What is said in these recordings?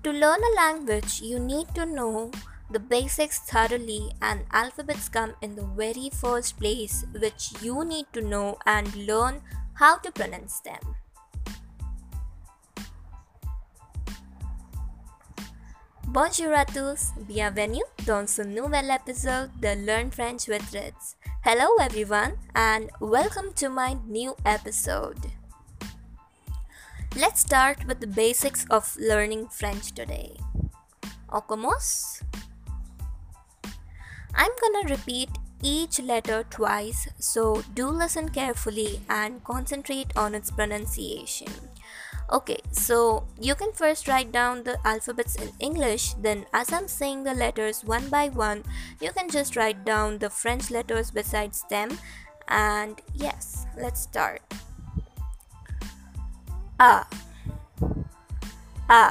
To learn a language, you need to know the basics thoroughly, and alphabets come in the very first place, which you need to know and learn how to pronounce them. Bonjour à tous, bienvenue dans ce nouvel épisode de Learn French with Ritz. Hello everyone and welcome to my new episode. Let's start with the basics of learning French today. On commence? I'm gonna repeat each letter twice, so do listen carefully and concentrate on its pronunciation. Okay, so you can first write down the alphabets in English, then as I'm saying the letters one by one, you can just write down the French letters besides them. And yes, let's start. A, A,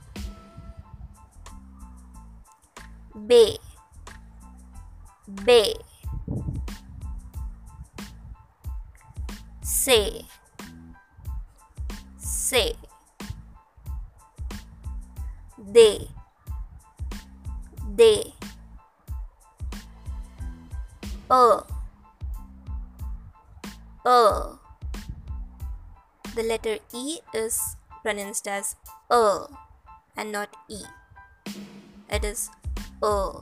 B, B, C, C, D, D, O, O. The letter E is pronounced as and not E. It is O.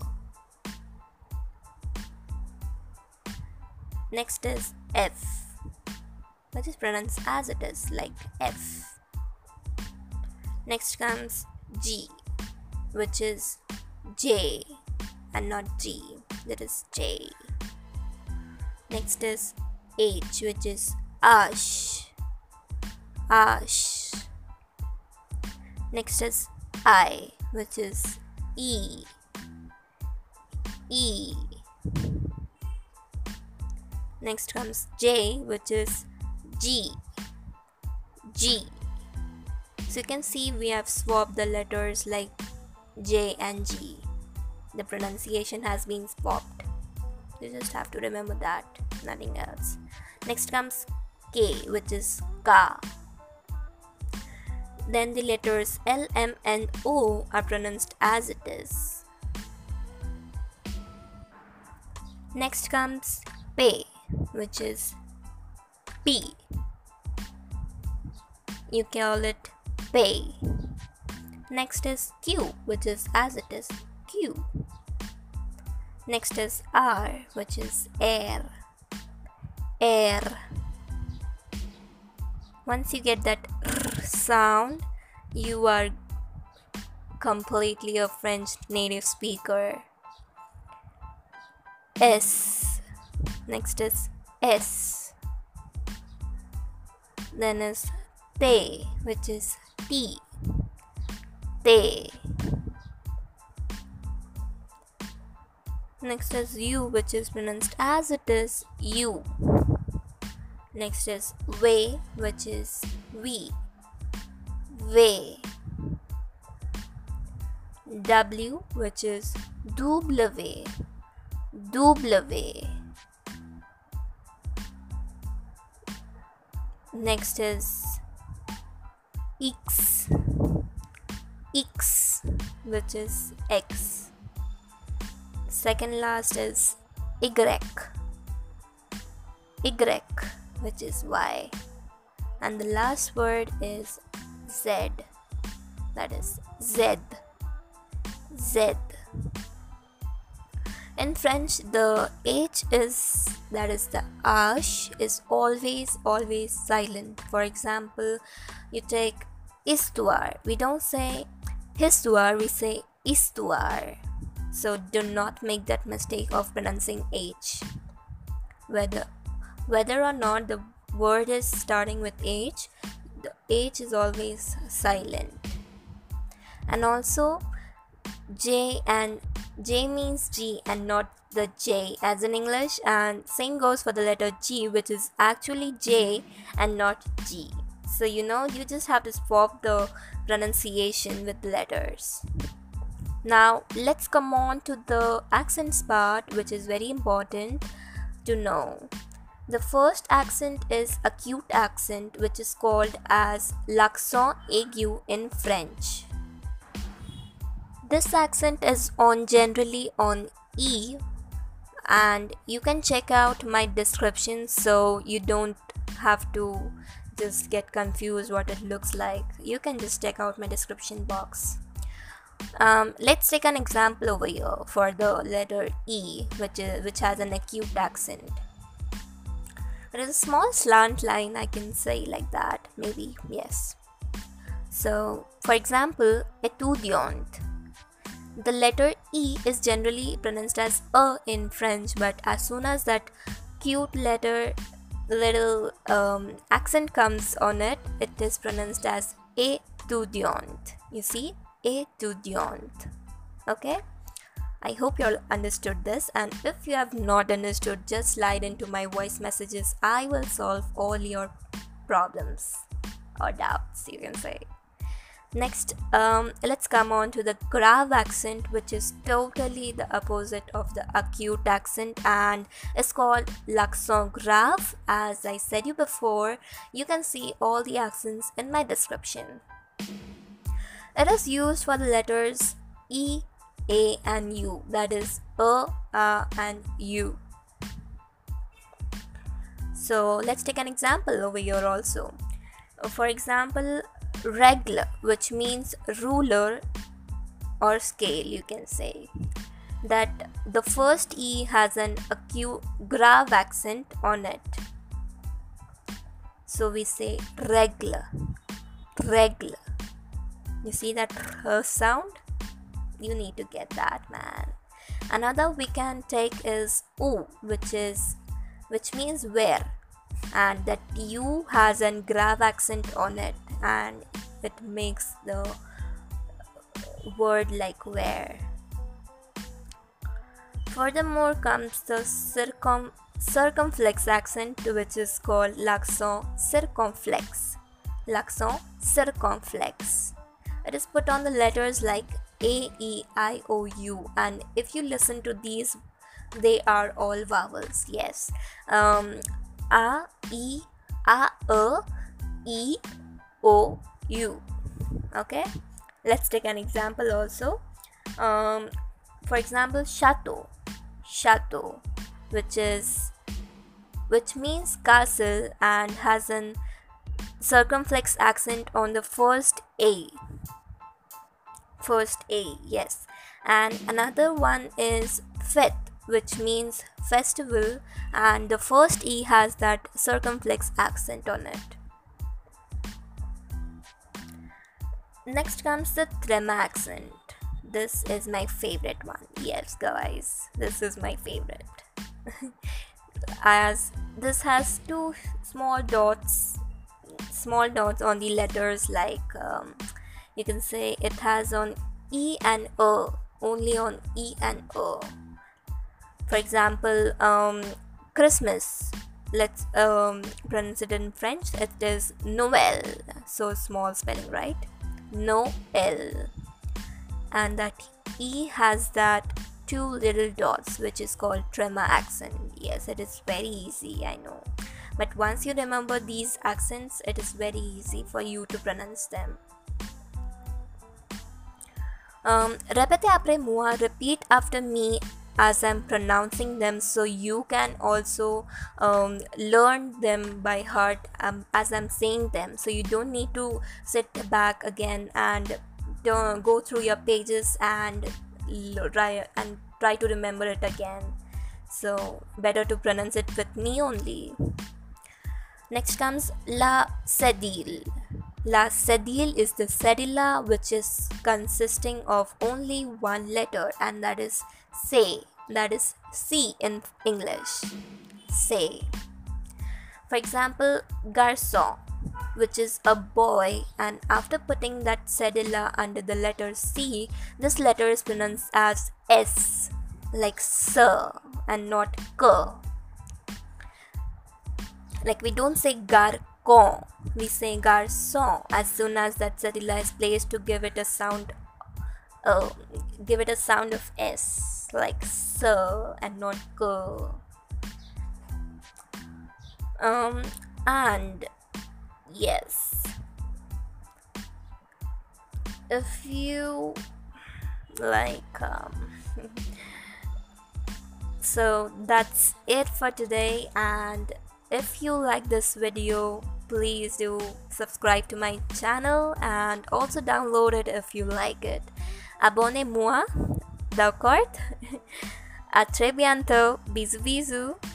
Next is F, which is pronounced as it is, like F. Next comes G, which is J and not G, that is J. Next is H, which is Ash, Ash. Next is I, which is E, E. Next comes J, which is G, G. So you can see we have swapped the letters like J and G. The pronunciation has been swapped. You just have to remember that, nothing else. Next comes K, which is Ka. Then the letters L, M, and O are pronounced as it is. Next comes P, which is P. You call it Pay. Next is Q, which is as it is, Q. Next is R, which is air, air. Once you get that R sound, you are completely a French native speaker. S. Next is S. Then is Te, which is T, Te. Next is U, which is pronounced as it is, U. Next is V, which is V, V. W, which is W, W. Next is X, X, which is X. Second last is Y, Y, which is Y. And the last word is Z, that is Z, Z. In French, the H is, that is the H, is always silent. For example, you take histoire. We don't say histoire, we say histoire. So do not make that mistake of pronouncing H. Whether or not the word is starting with H, the H is always silent. And also J means G and not the J as in English, and same goes for the letter G, which is actually J and not G. So you just have to swap the pronunciation with the letters. Now let's come on to the accents part, which is very important to know. The first accent is acute accent, which is called as l'accent aigu in French. This accent is on generally on E, and you can check out my description so you don't have to just get confused what it looks like. You can just check out my description box. Let's take an example over here for the letter E, which has an acute accent. There is a small slant line, I can say like that, maybe, yes. So, for example, étudiant. The letter E is generally pronounced as A in French, but as soon as that cute little accent comes on it, it is pronounced as étudiant. You see, étudiant. Okay? I hope you all understood this, and if you have not understood, just slide into my voice messages. I will solve all your problems or doubts, you can say. Next, let's come on to the grave accent, which is totally the opposite of the acute accent and is called l'accent grave. As I said you before, you can see all the accents in my description. It is used for the letters E, A and U, that is A, and U. So let's take an example over here also. For example, règle, which means ruler or scale, you can say. That the first E has an acute grave accent on it. So we say règle, règle. You see that sound? You need to get that, man. Another we can take is U, which means where, and that U has a grave accent on it, and it makes the word like where. Furthermore comes the circumflex accent, which is called l'accent circonflexe. L'accent circonflexe. It is put on the letters like A, E, I, O, U, and if you listen to these, they are all vowels. Yes. A, E, A, E, O, U. Okay. Let's take an example also. For example, chateau, chateau, which means castle and has an circumflex accent on the first A. First A, yes. And another one is fête, which means festival, and the first E has that circumflex accent on it. Next comes the trema accent. This is my favorite one. Yes, guys, this is my favorite. As this has two small dots on the letters, like you can say it has on E and O, only on E and O. For example, Christmas, let's pronounce it in French. It is Noël, so small spelling, right? Noël. And that E has that two little dots, which is called trema accent. Yes, it is very easy, I know, but once you remember these accents, it is very easy for you to pronounce them. Répétez après moi, repeat after me as I'm pronouncing them, so you can also learn them by heart as I'm saying them, so you don't need to sit back again and go through your pages and try to remember it again. So better to pronounce it with me only. Next comes la cédille. La cédille is the cedilla, which is consisting of only one letter, and that is say, that is C in English. Say. For example, garçon, which is a boy, and after putting that cedilla under the letter C, this letter is pronounced as S, like sir and not k. Like we don't say garçon, we say garçon as soon as that cedilla is placed to give it a sound of S, like sir and not k. And yes, if you like so that's it for today, and if you like this video, please do subscribe to my channel and also download it if you like it. Abonnez-moi, d'accord? À très bientôt, bisous bisous.